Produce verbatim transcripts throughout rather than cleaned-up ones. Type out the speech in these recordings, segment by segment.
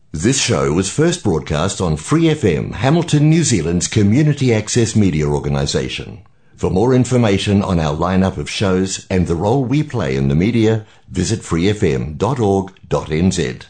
This show was first broadcast on Free F M, Hamilton, New Zealand's community access media organisation. For more information on our lineup of shows and the role we play in the media, visit free f m dot org dot n z.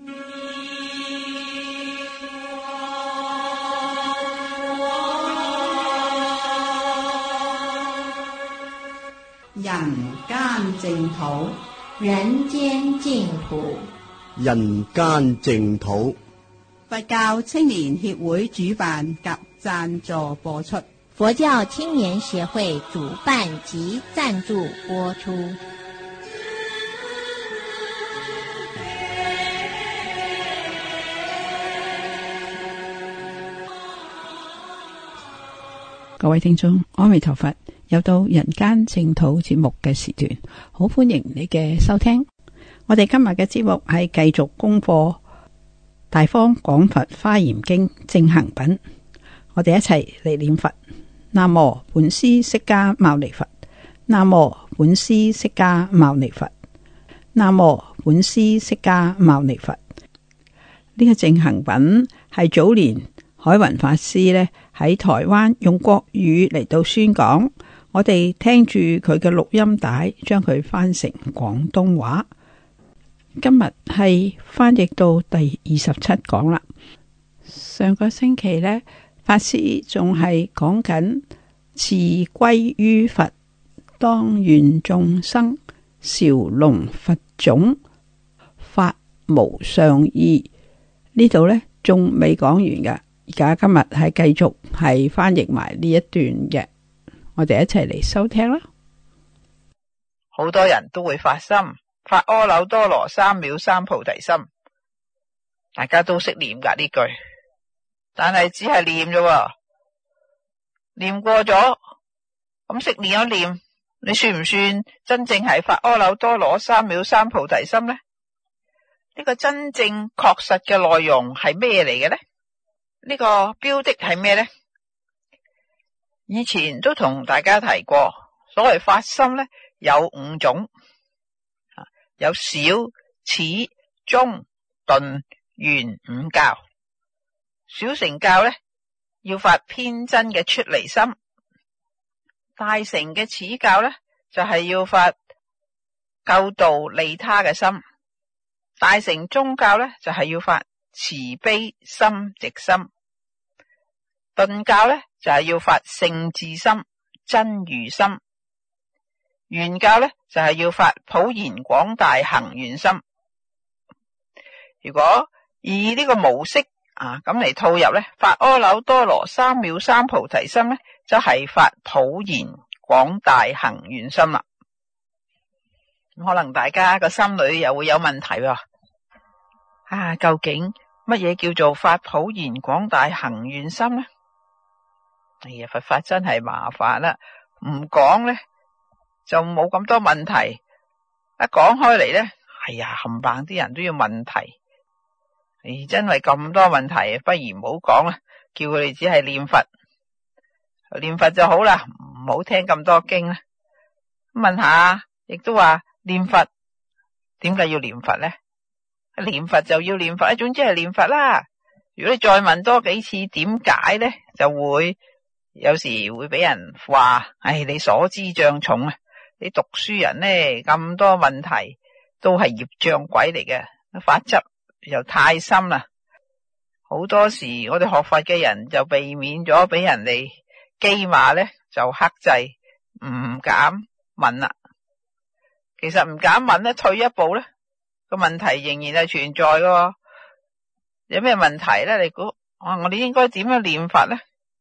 人間淨土，人間淨土， 人間淨土。 佛教青年協會主辦及贊助播出。 佛教青年協會主辦及贊助播出。 各位聽眾，阿彌陀佛，又到人間淨土節目嘅時段，好歡迎你嘅收聽。我哋今日嘅節目係繼續功課《大方廣佛華嚴經正行品》，我哋一齊嚟念佛。南無本師釋迦牟尼佛，南無本師釋迦牟尼佛，南無本師釋迦牟尼佛。呢個正行品係早年海雲法師呢喺台灣用國語嚟到宣講，我哋聽住佢嘅錄音帶，將佢翻成廣東話。今日係翻譯到第二十七講啦。上個星期呢，法師仲係講緊辭歸於佛，當願眾生紹隆佛種，發無上意。呢度呢仲未講完㗎。而家今日係繼續係翻譯埋呢一段嘅，我哋一齊嚟收聽啦。 好多人都會發心發阿耨多羅三藐三菩提心，大家都識念噶呢句，但係只係念啫，念過咗咁識念一念，你算唔算真正係發阿耨多羅三藐三菩提心呢？呢個真正確實嘅內容係咩嚟嘅呢？呢個標的係咩呢？以前都同大家提過，所謂發心呢，有五種，有小、始、中、頓、圓五教。小乘教呢，要發偏真嘅出離心；大乘嘅始教呢，就係要發救度利他嘅心；大乘中教呢，就係要發慈悲心直心；頓教呢，就係要發聖智心真如心；圓教呢，就係要發普賢廣大行願心。如果以呢個模式啊咁嚟套入呢，發阿耨多羅三藐三菩提心呢，就係發普賢廣大行願心啦。可能大家個心裏又會有問題喎。啊，究竟乜嘢叫做發普賢廣大行願心呢？哎呀，佛法真係麻煩啦，唔講呢就冇咁多問題，一講開嚟呢，哎呀，冚唪唥啲人都要問題。哎，真係咁多問題，不如唔好講啦，叫佢哋只係念佛，念佛就好啦，唔好聽咁多經啦。問下，亦都話念佛，點解要念佛呢？念佛就要念佛，總之係念佛啦。如果你再問多幾次點解呢，就會有時會俾人話，唉，你所知障重啊！你讀書人呢，咁多問題都係業障鬼嚟嘅，法執又太深啦。好多時我哋學佛嘅人就避免咗俾人哋譏罵呢，就克制唔敢問啦。其實唔敢問呢，退一步呢，個問題仍然係存在嘅。有咩問題呢？你估啊，我哋應該點樣念佛呢？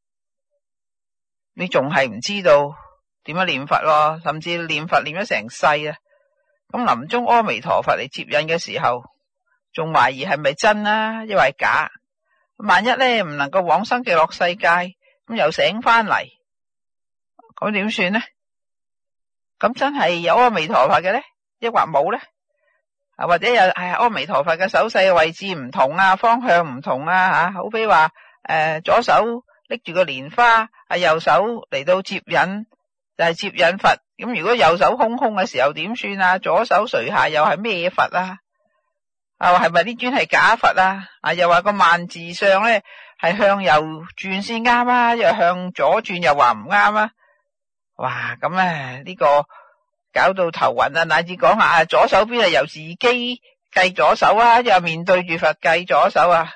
你仲係唔知道點樣念佛咯？甚至念佛念咗成世啊！咁臨終阿彌陀佛嚟接引嘅時候，仲懷疑係咪真啊，抑或係假？萬一咧唔能夠往生極樂世界，咁又醒翻嚟，咁點算呢？咁真係有阿彌陀佛嘅咧，抑或冇咧？啊，或者有係阿彌陀佛嘅手勢嘅位置唔同啊，方向唔同啊，吓，好比話誒，左手拎住個蓮花，啊，右手嚟到接引，就係接引佛。咁如果右手空空嘅時候點算啊？左手垂下又係咩佛啊？ 啊，係咪呢尊係假佛啊？啊，又話個萬字相咧係向右轉先啱啊，又向左轉又話唔啱啊！哇，咁咧呢個搞到頭暈啊，乃至講下左手邊係由自己計左手啊，又面對住佛計左手啊！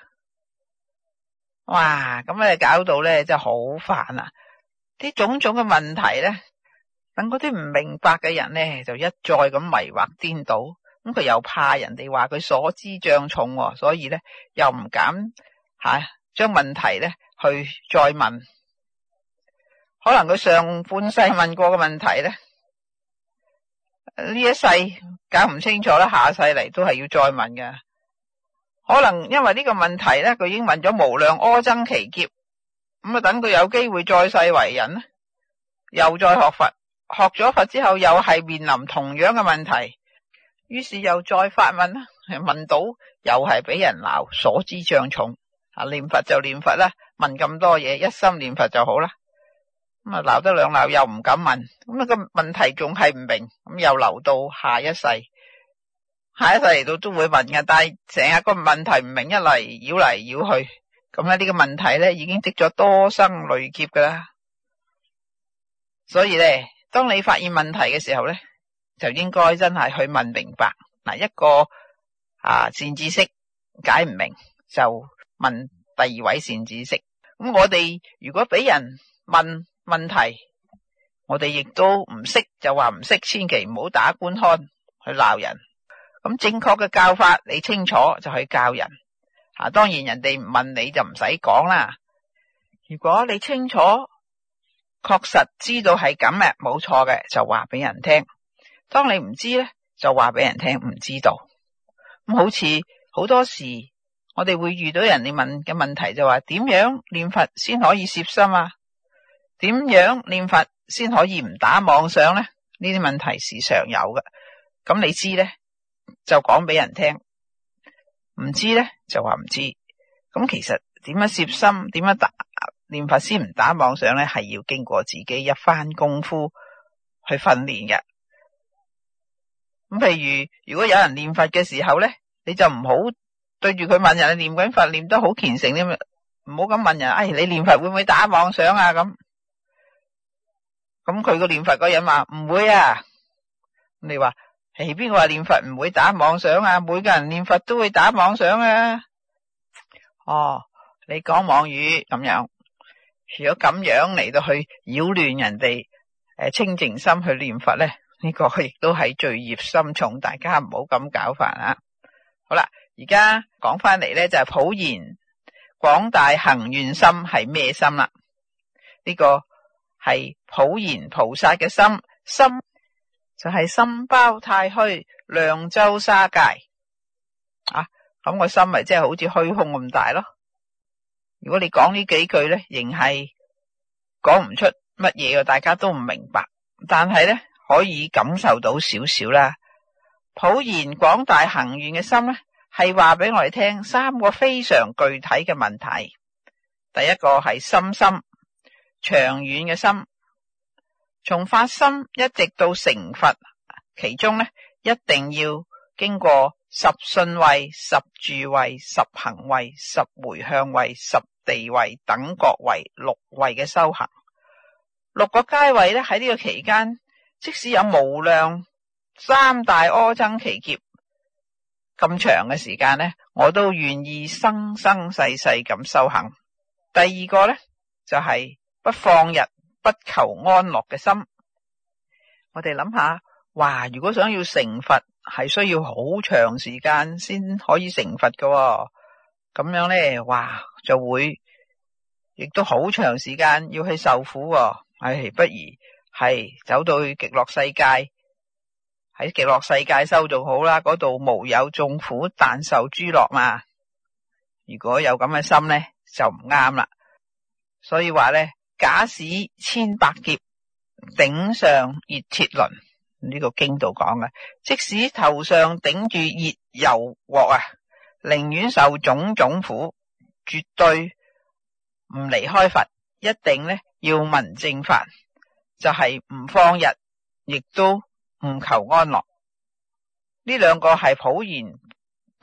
哇，咁咧搞到咧真係好煩啊！啲種種嘅問題咧，等嗰啲唔明白嘅人咧就一再咁迷惑顛倒，咁佢又怕人哋話佢所知障重，所以咧又唔敢吓將問題咧去再問。可能佢上半世問過嘅問題咧，呢一世搞唔清楚啦，下世嚟都係要再問嘅。可能因為呢個問題咧，佢已經問咗無量阿僧祇劫，咁啊等佢有機會再世為人咧，又再學佛，學咗佛之後又係面臨同樣嘅問題，於是又再發問啦，問到又係俾人鬧所知障重啊！念佛就念佛啦，問咁多嘢，一心念佛就好啦。咁啊鬧得兩鬧又唔敢問，咁啊個問題仲係唔明，咁又留到下一世。下一世嚟到都會問嘅，但係成日個問題唔明，一嚟繞嚟繞去，咁咧呢個問題咧已經積咗多生累劫噶啦。所以咧，當你發現問題嘅時候咧，就應該真係去問明白。嗱，一個啊善知識解唔明，就問第二位善知識。咁我哋如果俾人問問題，我哋亦都唔識就話唔識，千祈唔好打官腔去鬧人。咁正確嘅教法你清楚就去教人啊，當然人哋唔問你就唔使講啦。如果你清楚確實知道係咁嘅，冇錯嘅，就話俾人聽。當你唔知咧，就話俾人聽唔知道。咁好似好多時我哋會遇到人哋問嘅問題，就話點樣念佛先可以攝心啊？點樣念佛先可以唔打妄想咧？呢啲問題時常有嘅。咁你知咧，就講俾人聽，唔知咧就話唔知。咁其實點樣攝心，點樣打念佛先唔打妄想咧，係要經過自己一番功夫去訓練嘅。咁譬如如果有人念佛嘅時候咧，你就唔好對住佢問人，你念緊佛念得好虔誠啲，唔好咁問人，哎，你念佛會唔會打妄想啊？咁咁佢個念佛嗰人話唔會啊。你話係邊個話念佛唔會打妄想啊？每個人念佛都會打妄想啊。哦，你講妄語咁樣，如果咁樣嚟到去擾亂人哋誒清淨心去念佛咧，呢個亦都係罪孽深重，大家唔好咁搞法啊。好啦，而家講翻嚟咧就係普賢廣大行願心係咩心啦？呢個係普賢菩薩嘅心，心就係心包太虛，量周沙界啊。咁個心咪即係好似虛空咁大咯。如果你講呢幾句咧，仍係講唔出乜嘢嘅，大家都唔明白。但係咧可以感受到少少啦。普賢廣大行願嘅心咧，係話俾我哋聽三個非常具體嘅問題。第一個係心心，長遠嘅心，從發心一直到成佛，其中咧一定要經過十信位、十住位、十行位、十回向位、十地位、等覺位、六位嘅修行。六個階位咧喺呢個期間，即使有無量三大阿僧祇劫咁長嘅時間咧，我都願意生生世世咁修行。第二個咧就係、是、不放逸、不求安樂嘅心。我哋諗下，哇！如果想要成佛，係需要好長時間先可以成佛㗎喎。咁樣咧，哇，就會亦都好長時間要去受苦喎。唉，不如係走到去極樂世界，喺極樂世界修仲好啦，嗰度無有眾苦，但受諸樂嘛。如果有咁嘅心咧，就唔啱啦。所以話咧，假使千百劫頂上熱鐵輪，呢個經度講嘅，即使頭上頂住熱油鑊啊，寧願受種種苦，絕對唔離開佛，一定咧要聞正法，就係、是、唔放逸，亦都唔求安樂。呢兩個係普賢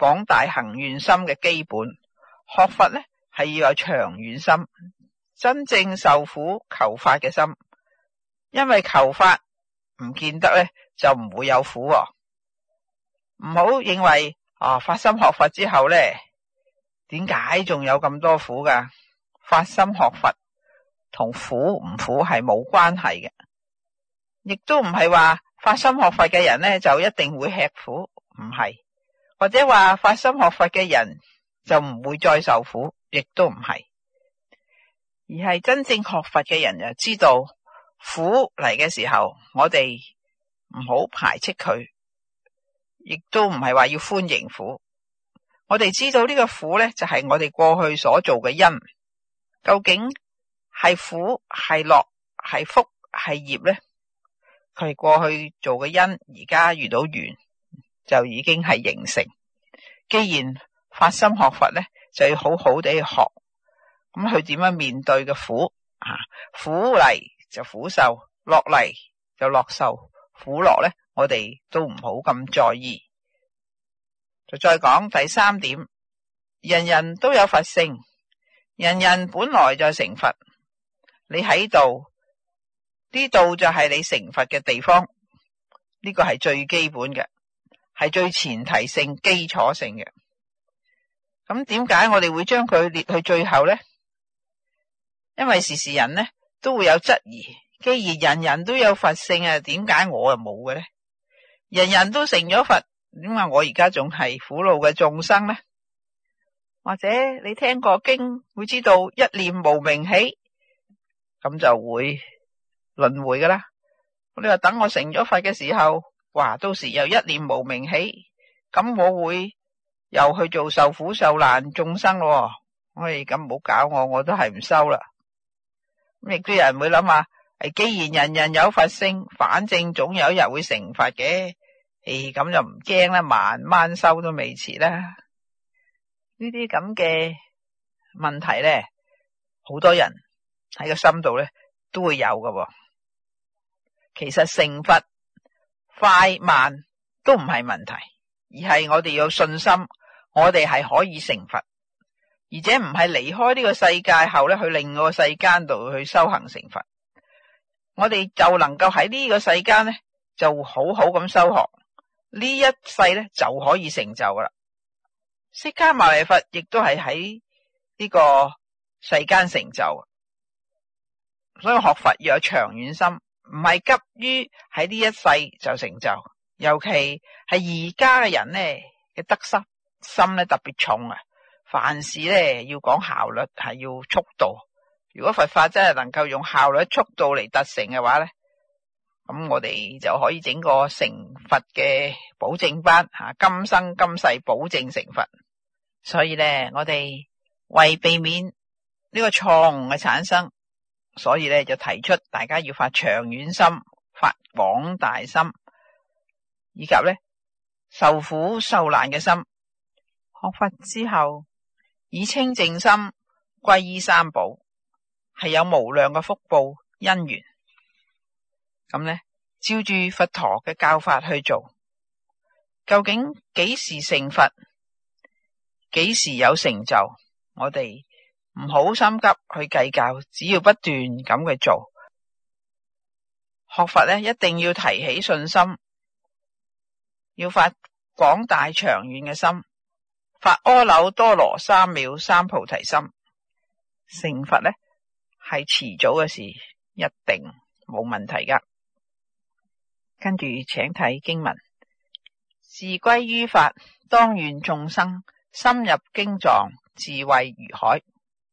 廣大行願心嘅基本。學佛呢係要有長遠心，真正受苦求法嘅心。因為求法唔見得呢就唔會有苦喎。唔好認為啊發心學佛之後呢，點解仲有咁多苦噶？發心學佛同苦唔苦係冇關係嘅，亦都唔係話發心學佛嘅人呢就一定會吃苦，唔係，或者話發心學佛嘅人就唔會再受苦，亦都唔係，而係真正學佛嘅人就知道苦嚟嘅時候，我哋唔好排斥佢，亦都唔係話要歡迎苦。我哋知道呢個苦呢，就係我哋過去所做嘅因，究竟係苦係樂係福係業呢？佢係過去做嘅因，而家遇到緣就已經係形成。既然發心學佛呢，就要好好地去學，咁佢點樣面對嘅苦啊？苦嚟就苦受，樂嚟就樂受，苦樂呢，我哋都唔好咁在意。就再講第三點，人人都有佛性，人人本來就成佛。你喺度，呢度就係你成佛嘅地方，呢個係最基本嘅，係最前提性基礎性嘅。咁點解我哋會將佢列去最後呢？因為時時人呢都會有質疑，既然人人都有佛性啊，點解我又冇嘅呢？人人都成咗佛，點解我而家仲係苦惱嘅眾生呢？或者你聽過經會知道一念無明起，咁就會輪迴噶啦。你話等我成咗佛嘅時候，哇，到時又一念無明起，咁我會又去做受苦受難眾生咯。我哋咁唔好搞我，我都係唔收啦。咁亦都有人會諗下，誒，既然人人有佛性，反正總有一日會成佛嘅，誒，咁就唔驚啦，慢慢收都未遲啦。呢啲咁嘅問題咧，好多人喺個心度咧都會有㗎。其實成佛快慢都唔係問題，而係我哋有信心，我哋係可以成佛，而且唔係離開呢個世界後咧去另外個世間度去修行成佛。我哋就能夠喺呢個世間咧就好好咁修學，呢一世咧就可以成就噶啦。釋迦牟尼佛亦都係喺呢個世間成就，所以學佛要有長遠心，唔係急於喺呢一世就成就。尤其係而家嘅人呢嘅得失心咧特別重啊，凡事咧要講效率，係要速度。如果佛法真係能夠用效率速度嚟達成嘅話咧，咁我哋就可以整個成佛嘅保證班吓，今生今世保證成佛。所以咧，我哋為避免呢個錯誤嘅產生，所以咧就提出大家要發長遠心，發廣大心，以及咧受苦受難嘅心。學佛之後，以清淨心歸依三寶，係有無量嘅福報因緣。咁咧，照住佛陀嘅教法去做，究竟幾時成佛，幾時有成就，我哋唔好心急去計較，只要不斷咁去做。學佛咧，一定要提起信心，要發廣大長遠嘅心，發阿耨多羅三藐三菩提心。成佛咧係遲早嘅事，一定冇問題噶。跟住請睇經文，自歸於法，當願眾生深入經藏，智慧如海。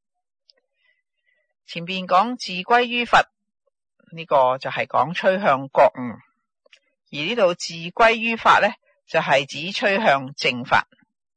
前邊講自歸於佛，呢、這個就係講趨向覺悟，而呢度自歸於法呢，就係、是、指趨向正法。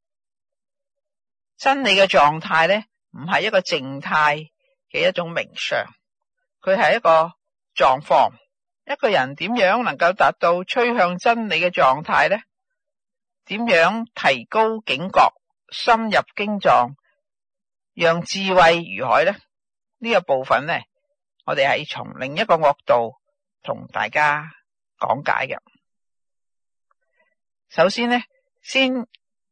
真理嘅狀態呢，唔係一個靜態嘅一種名相，佢係一個狀況。一個人點樣能夠達到趨向真理嘅狀態呢？點樣提高警覺，深入經藏，讓智慧如海呢？呢、這個部分呢，我哋係從另一個角度同大家講解嘅。首先呢，先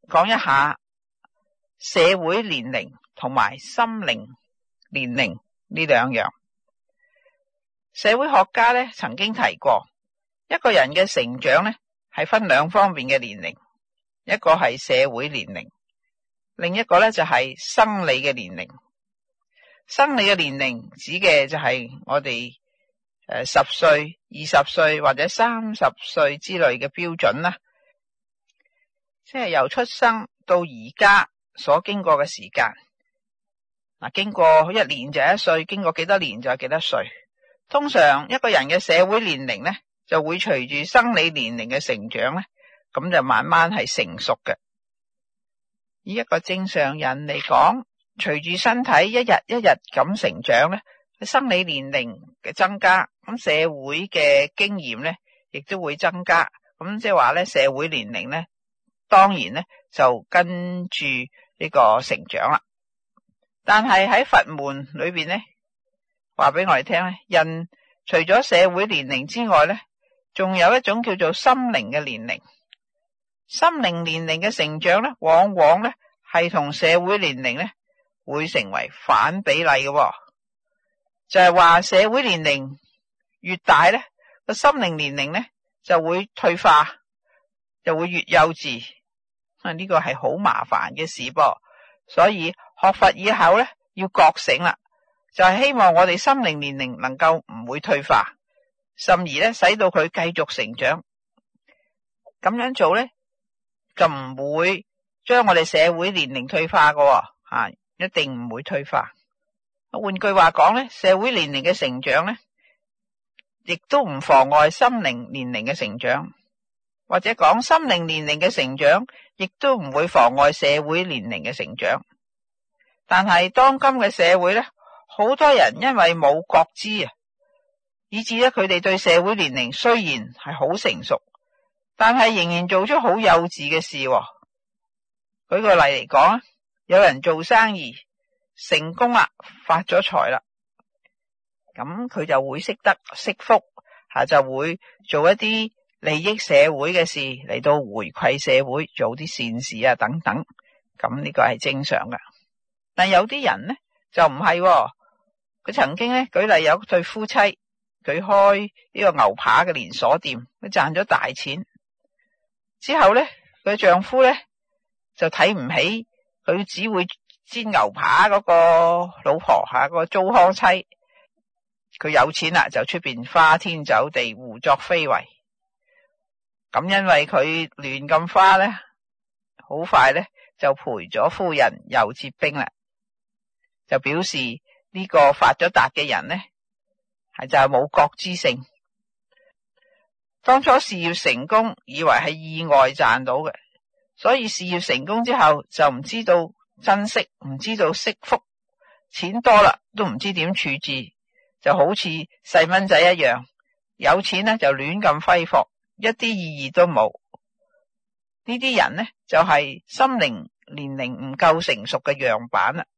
講一下社會年齡同埋心靈年齡呢兩樣。社會學家咧曾經提過，一個人嘅成長咧係分兩方面嘅年齡，一個係社會年齡，另一個咧就係生理嘅年齡。生理嘅年齡指嘅就係我哋誒十歲、二十歲或者三十歲之類嘅標準啦，即係由出生到而家所經過嘅時間。嗱，經過一年就一歲，經過幾多年就係幾多歲。通常一個人嘅社會年齡咧，就會隨住生理年齡嘅成長咧，咁就慢慢係成熟嘅。以一個正常人嚟講，隨住身體一日一日咁成長咧，生理年齡嘅增加，咁社會嘅經驗咧，亦都會增加。咁即係話咧，社會年齡咧，當然咧就跟住呢個成長啦。但係喺佛門裏邊咧，話俾我哋聽咧，人除咗社會年齡之外咧，仲有一種叫做心靈嘅年齡。心靈年齡嘅成長咧，往往咧係同社會年齡咧會成為反比例嘅。就係話社會年齡越大咧，個心靈年齡咧就會退化，就會越幼稚。啊，呢個係好麻煩嘅事噃。所以學佛以後咧要覺醒啦。就係希望我哋心靈年齡能夠唔會退化，甚而咧使到佢繼續成長。咁樣做咧就唔會將我哋社會年齡退化嘅，吓，一定唔會退化。換句話講咧，社會年齡嘅成長咧，亦都唔妨礙心靈年齡嘅成長，或者講心靈年齡嘅成長，亦都唔會妨礙社會年齡嘅成長。但係當今嘅社會咧，好多人因為冇覺知啊，以致咧佢哋對社會年齡雖然係好成熟，但係仍然做出好幼稚嘅事。舉個例嚟講，有人做生意成功啦，發咗財啦，咁佢就會識得惜福吓，就會做一啲利益社會嘅事嚟到回饋社會，做啲善事啊等等。咁呢個係正常噶。但有啲人呢就唔係。佢曾經咧，舉例有對夫妻，佢開呢個牛扒嘅連鎖店，佢賺咗大錢之後咧，佢丈夫咧就睇唔起佢只會煎牛扒嗰個老婆吓，嗰個糟糠妻。佢有錢啦，就出邊花天酒地，胡作非為。咁因為佢亂咁花咧，好快咧就賠咗夫人又折兵啦，就表示呢個發咗達嘅人呢，係就係冇覺知性。當初事業成功，以為係意外賺到嘅，所以事業成功之後就唔知道珍惜，唔知道惜福，錢多啦都唔知點處置，就好似細蚊仔一樣，有錢呢就亂咁揮霍，一啲意義都冇。呢啲人呢，就係心靈年齡唔夠成熟嘅樣板啦。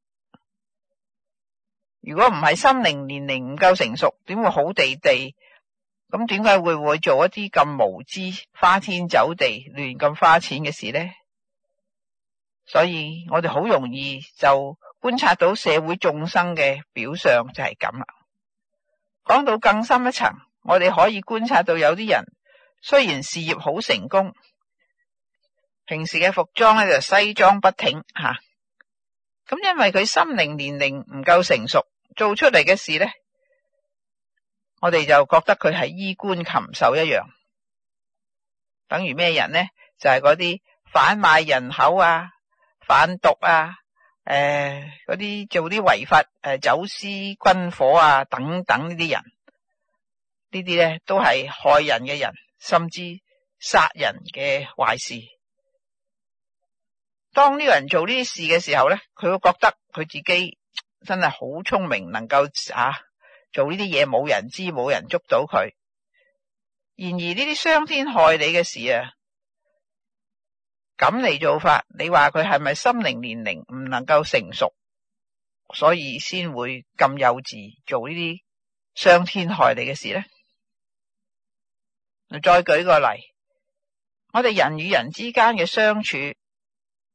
如果唔係心靈年齡唔夠成熟，點會好地地？咁點解會會做一啲咁無知、花天酒地、亂咁花錢嘅事呢？所以我哋好容易就觀察到社會眾生嘅表象就係咁啦。講到更深一層，我哋可以觀察到有啲人雖然事業好成功，平時嘅服裝咧就西裝筆挺吓，咁因為佢心靈年齡唔夠成熟，做出嚟嘅事咧，我哋就覺得佢係衣冠禽獸一樣。等於咩人呢？就係嗰啲販賣人口啊、販毒啊、誒嗰啲做啲違法誒、呃、走私軍火啊等等呢啲人，呢啲咧都係害人嘅人，甚至殺人嘅壞事。當呢個人做呢啲事嘅時候咧，佢會覺得佢自己真係好聰明，能夠啊做呢啲嘢，冇人知，冇人捉到佢。然而呢啲傷天害理嘅事啊，咁嚟做法，你話佢係咪心靈年齡唔能夠成熟，所以先會咁幼稚做呢啲傷天害理嘅事呢？再舉個例，我哋人與人之間嘅相處，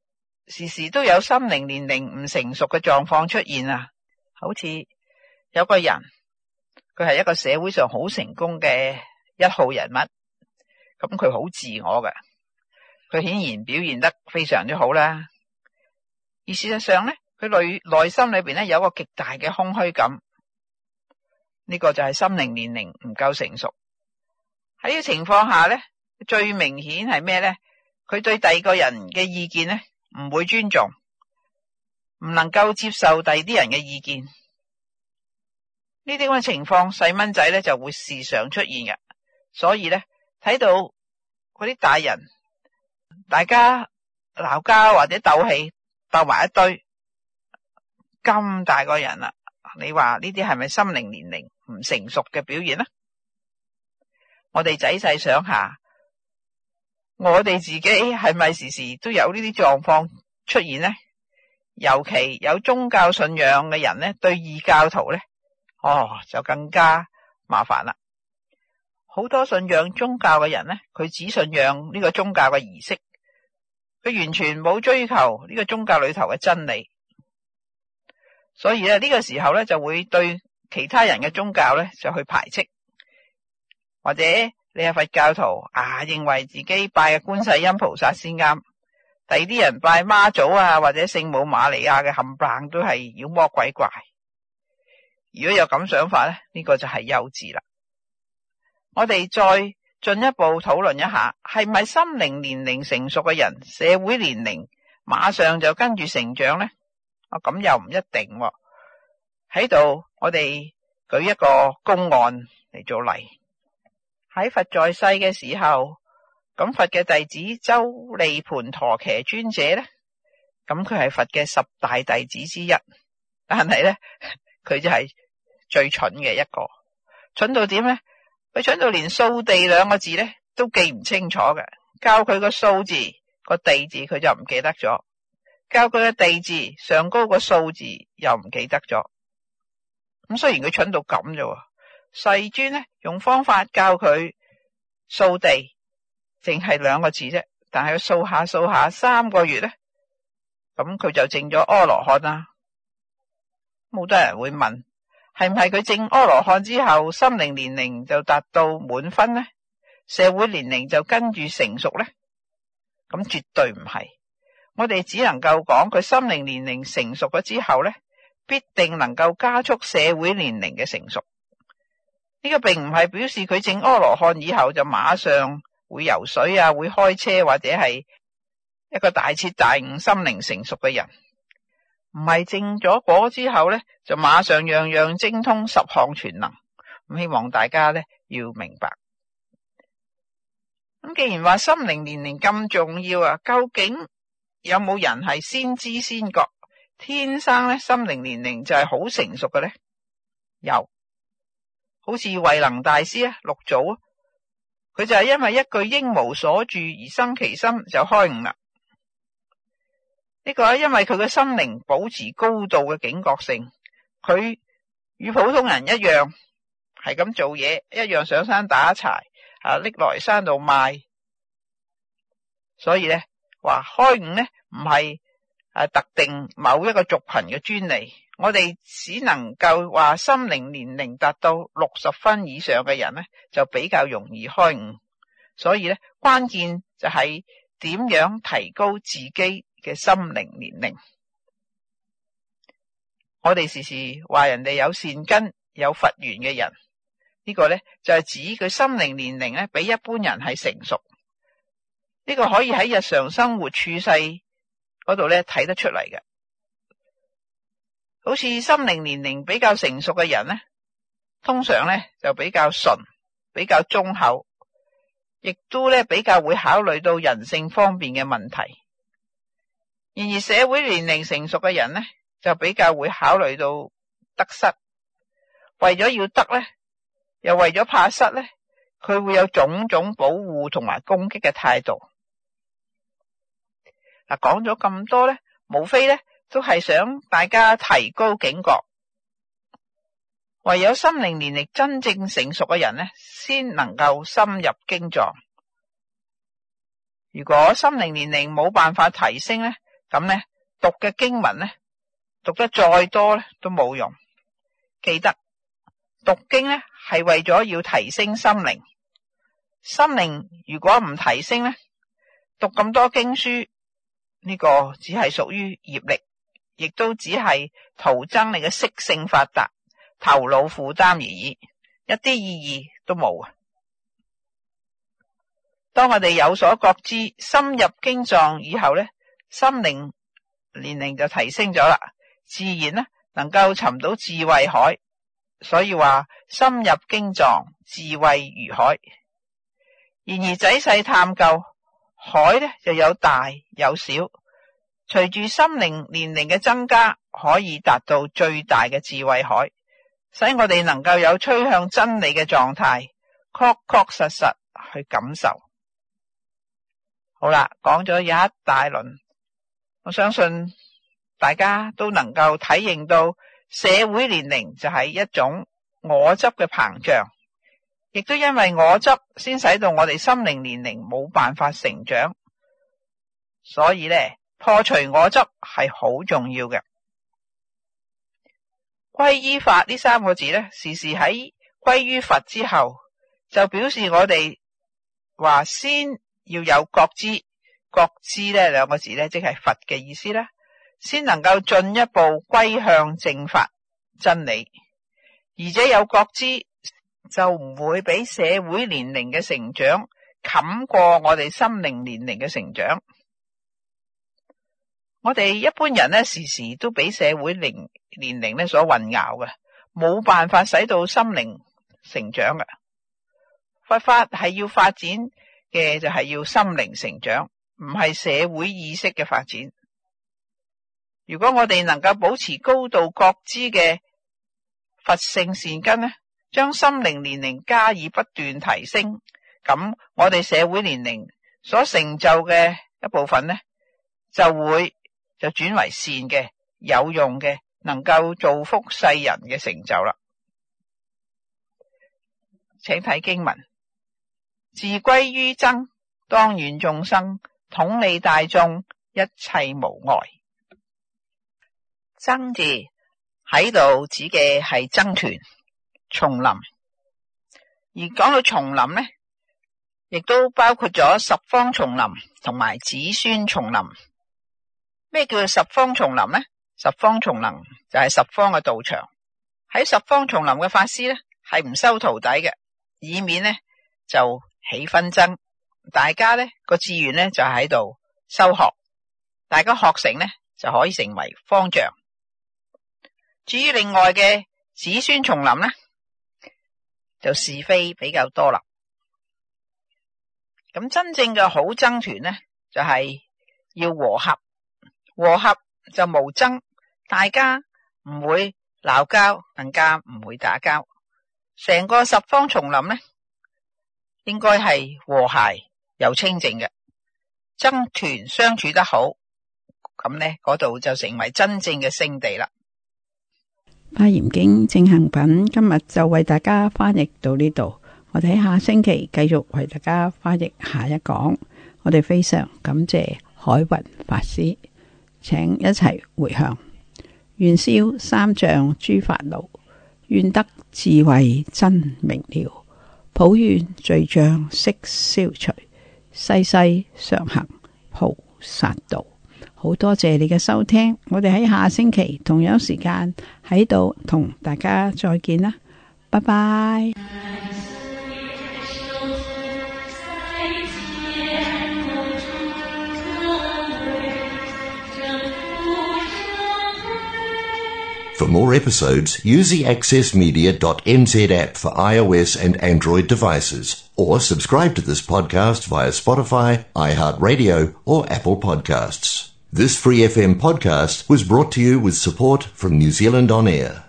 時時都有心靈年齡唔成熟嘅狀況出現啊。好似有個人，佢係一個社會上好成功嘅一號人物，咁佢好自我嘅，佢顯然表現得非常之好啦。而事實上咧，佢內內心裏邊咧有個極大嘅空虛感，呢個就係心靈年齡唔夠成熟。喺呢個情況下咧，最明顯係咩咧？佢對第二個人嘅意見咧唔會尊重，唔能夠接受第二啲人嘅意見。呢啲咁嘅情況，細蚊仔咧就會時常出現嘅。所以咧，睇到嗰啲大人大家鬧交或者鬥氣鬥埋一堆，咁大個人啦，你話呢啲係咪心靈年齡唔成熟嘅表現呢？我哋仔細想下，我哋自己係咪時時都有呢啲狀況出現呢？尤其有宗教信仰嘅人呢，對異教徒呢，哦就更加麻煩啦。好多信仰宗教嘅人呢，佢只信仰呢個宗教嘅儀式，佢完全冇追求呢個宗教裏頭嘅真理。所以咧，呢個時候咧就會對其他人嘅宗教咧就去排斥，或者你係佛教徒啊，認為自己拜嘅觀世音菩薩先啱，第二啲人拜媽祖啊或者聖母瑪利亞嘅冚唪唥都係妖魔鬼怪。如果有咁想法咧，呢個就係幼稚啦。我哋再進一步討論一下，係咪心靈年齡成熟嘅人，社會年齡馬上就跟住成長呢？啊，咁又唔一定喎。喺度我哋舉一個公案嚟做例。喺佛在世嘅時候，咁佛嘅弟子周利盤陀伽尊者咧，咁佢係佛嘅十大弟子之一，但係咧佢就係最蠢嘅一個。蠢到點咧？佢蠢到連掃地兩個字咧都記唔清楚嘅，教佢個掃字個地字佢就唔記得咗，教佢嘅地字上高個數字又唔記得咗。咁雖然佢蠢到咁啫，世尊呢用方法教佢掃地，淨係兩個字啫，但係佢掃下掃下三個月咧，咁佢就證咗阿羅漢啦。冇多人會問，係唔係佢證阿羅漢之後心靈年齡就達到滿分呢？社會年齡就跟住成熟呢？咁絕對唔係。我哋只能夠講佢心靈年齡成熟咗之後呢，必定能夠加速社會年齡嘅成熟。呢個並唔係表示佢證阿羅漢以後就馬上會游水啊，會開車或者係一個大徹大悟心靈成熟嘅人。唔係證咗果之後呢，就馬上樣樣精通，十項全能。咁希望大家呢要明白。咁既然話心靈年齡咁重要啊，究竟有冇人係先知先覺，天生呢心靈年齡就係好成熟嘅呢？有，好似慧能大師啊，六祖啊，佢就係因為一句應無所住而生其心就開悟啦。呢個係因為佢嘅心靈保持高度嘅警覺性，佢與普通人一樣係咁做嘢，一樣上山打柴啊，拎來山度賣。所以咧話開悟咧唔係誒特定某一個族群嘅專利，我哋只能夠話心靈年齡達到六十分以上嘅人咧就比較容易開悟。所以咧關鍵就係點樣提高自己嘅心靈年齡。我哋時時話人哋有善根有佛緣嘅人，呢個呢就係指佢心靈年齡呢比一般人係成熟。呢個可以喺日常生活處世嗰度呢睇得出嚟嘅。好似心靈年齡比較成熟嘅人呢，通常呢就比較純，比較忠厚，亦都呢比較會考慮到人性方面嘅問題。然而社會年齡成熟嘅人呢，就比較會考慮到得失，為咗要得呢，又為咗怕失呢，佢會有種種保護同埋攻擊嘅態度。嗱，講咗咁多呢，無非呢都係想大家提高警覺。唯有心靈年齡真正成熟嘅人呢，先能夠深入經藏。如果心靈年齡冇辦法提升呢， 咁呢，讀嘅經文呢，讀得再多呢都冇用。記得讀經呢係為咗要提升心靈，心靈如果唔提升呢，讀咁多經書呢個只係屬於業力，亦都只係徒增你嘅識性發達，頭腦負擔而已，一啲意義都冇啊！當我哋有所覺知，深入經藏以後呢，心靈年齡就提升咗啦，自然呢能夠尋到智慧海。所以話深入經藏，智慧如海。然而仔細探究，海呢就有大有小，隨住心靈年齡嘅增加，可以達到最大嘅智慧海，使我哋能夠有趨向真理嘅狀態，確確實實去感受。好啦，講咗有一大輪，我相信大家都能夠體認到社會年齡就係一種我執嘅膨脹，亦都因為我執先使到我哋心靈年齡冇辦法成長，所以呢，破除我執係好重要嘅。歸依法呢三個字呢，時時喺歸於佛之後，就表示我哋話先要有覺知，覺知呢兩個字呢，即係佛嘅意思啦，先能夠進一步歸向正法真理，而且有覺知就唔會俾社會年齡嘅成長冚過我哋心靈年齡嘅成長。我哋一般人呢，時時都俾社會年年齡呢所混淆嘅，冇辦法使到心靈成長嘅。佛法係要發展嘅就係要心靈成長，唔係社會意識嘅發展。如果我哋能夠保持高度覺知嘅佛性善根呢，將心靈年齡加以不斷提升，咁我哋社會年齡所成就嘅一部分呢，就會就轉為善嘅、有用嘅，能夠造福世人嘅成就啦。請睇經文：自歸於僧，當願眾生，統理大眾，一切無礙。僧字喺度指嘅係僧團、叢林，而講到叢林呢，亦都包括咗十方叢林同埋子孫叢林。咩叫做十方叢林呢？十方叢林就係十方嘅道場。喺十方叢林嘅法師呢，係唔收徒弟嘅，以免呢就起紛爭。大家呢個志願呢就喺度修學，大家學成呢就可以成為方丈。至於另外嘅子孫叢林呢，就是非比較多啦。咁真正嘅好僧團呢，就係要和合，和合就無爭，大家唔會鬧交，更加唔會打交。成個十方叢林呢，應該係和諧又清淨嘅，僧團相處得好，咁呢嗰度就成為真正嘅聖地啦。 《華嚴經正行品》今日就為大家翻譯到呢度，我哋喺下星期繼續為大家翻譯下一講。我哋非常感謝海雲法師，請一齊回向：願消三障諸煩惱，願得智慧真明了，普願罪障悉消除，世世常行菩薩道。好多謝你嘅收聽，我哋喺下星期同樣時間喺度同大家再見啦，拜拜。 For more episodes, use the access media dot n z app for iOS and Android devices, or subscribe to this podcast via Spotify, iHeartRadio, or Apple Podcasts. This Free F M podcast was brought to you with support from New Zealand On Air.